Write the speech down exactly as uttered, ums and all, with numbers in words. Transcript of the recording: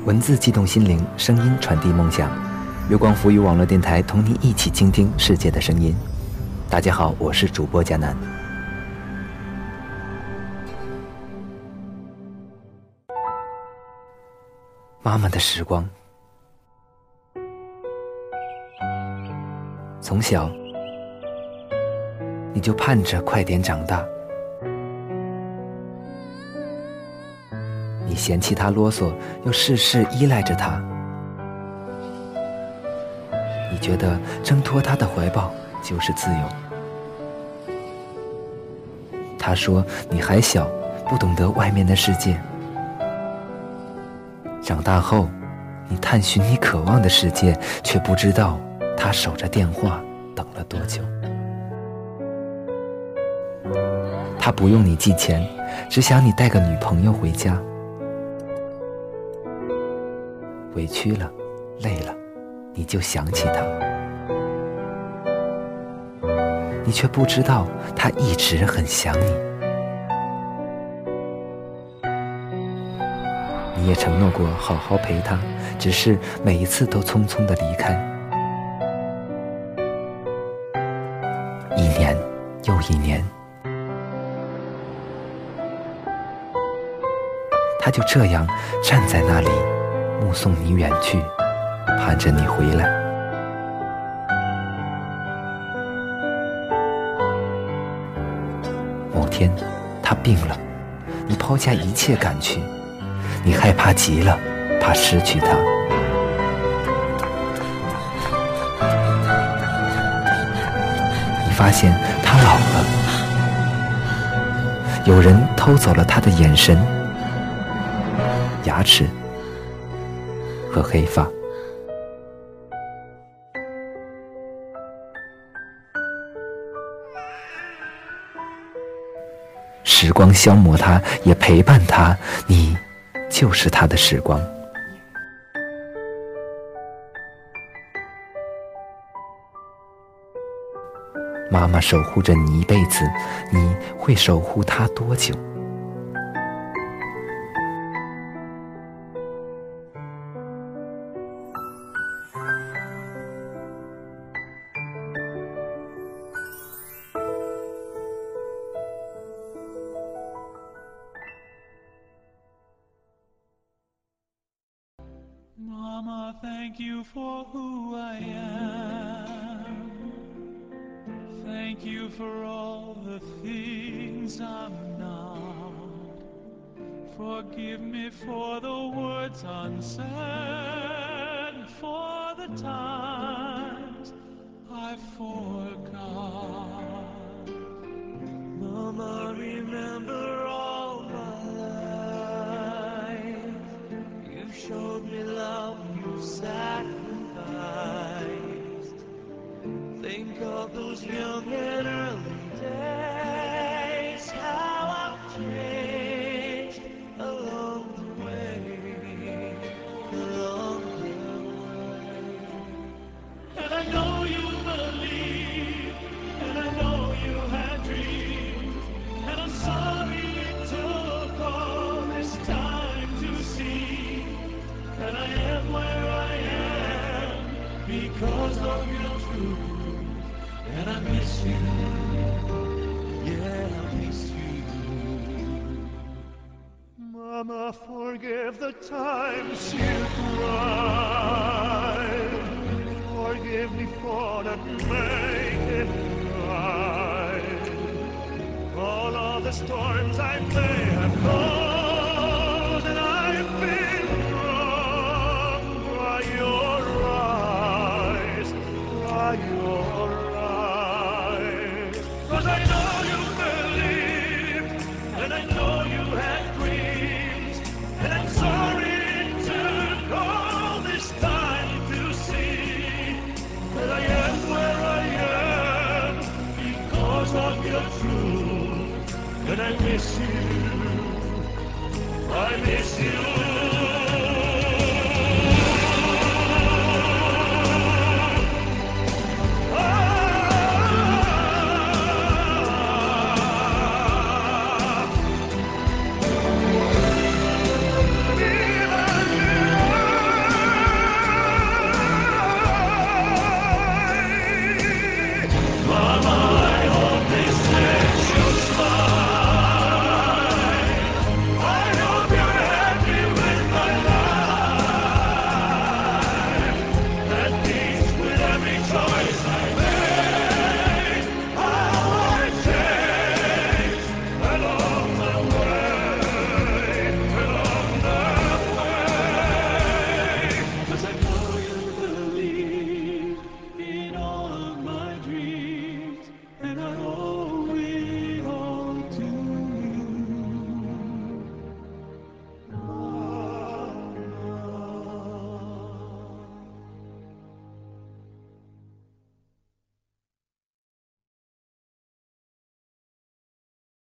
文字激动心灵，声音传递梦想。月光浮语网络电台同你一起倾听世界的声音。大家好，我是主播佳楠。妈妈的时光，从小你就盼着快点长大，你嫌弃他啰嗦，又事事依赖着他，你觉得挣脱他的怀抱就是自由。他说你还小，不懂得外面的世界。长大后，你探寻你渴望的世界，却不知道他守着电话等了多久。他不用你寄钱，只想你带个女朋友回家。委屈了，累了，你就想起他，你却不知道他一直很想你。你也承诺过好好陪他，只是每一次都匆匆地离开。一年又一年，他就这样站在那里，目送你远去，盼着你回来。某天他病了，你抛下一切赶去，你害怕极了，怕失去他。你发现他老了，有人偷走了他的眼神、牙齿和黑发。时光消磨他，也陪伴他，你就是他的时光。妈妈守护着你一辈子，你会守護他多久 ？Mama, thank you for who I am. Thank you for all the things I'm not. Forgive me for the words unsaid, for the times I forgot. Mama, remember all my life. You showed me love, you sacrificed. Think of those young and early days, how I've changed along the way, along the way. And I know you believe, and I know you had dreams, and I'm sorry it took all this time to see that I am where I am because of your truth. And I miss you, yeah, I miss you. Mama, forgive the times you cried. Forgive me for not making it right. All of the storms I may have caused, and I've been wrong. Dry your eyes, dry your eyes. Cause I know you believed, and I know you had dreams, and I'm sorry it took all this time to see that I am where I am because of your truth. And I miss you, I miss you.